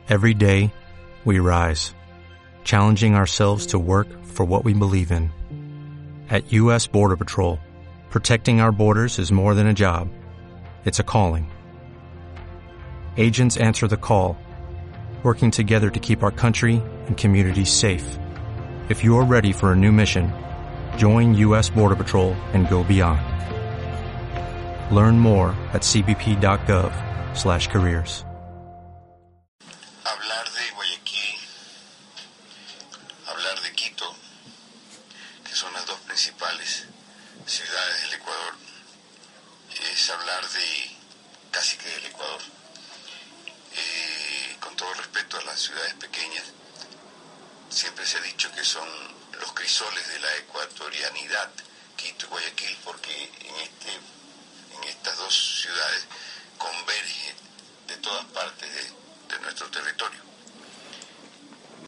Every day, we rise, challenging ourselves to work for what we believe in. At U.S. Border Patrol, protecting our borders is more than a job. It's a calling. Agents answer the call, working together to keep our country and communities safe. If you're ready for a new mission, join U.S. Border Patrol and go beyond. Learn more at cbp.gov/careers. Hablar de Guayaquil, hablar de Quito, que son las dos principales ciudades del Ecuador, es hablar de casi que del Ecuador. Con todo respeto a las ciudades pequeñas, siempre se ha dicho que son los crisoles de la ecuatorianidad, Quito y Guayaquil, porque en estas dos ciudades converge de todas partes de nuestro territorio.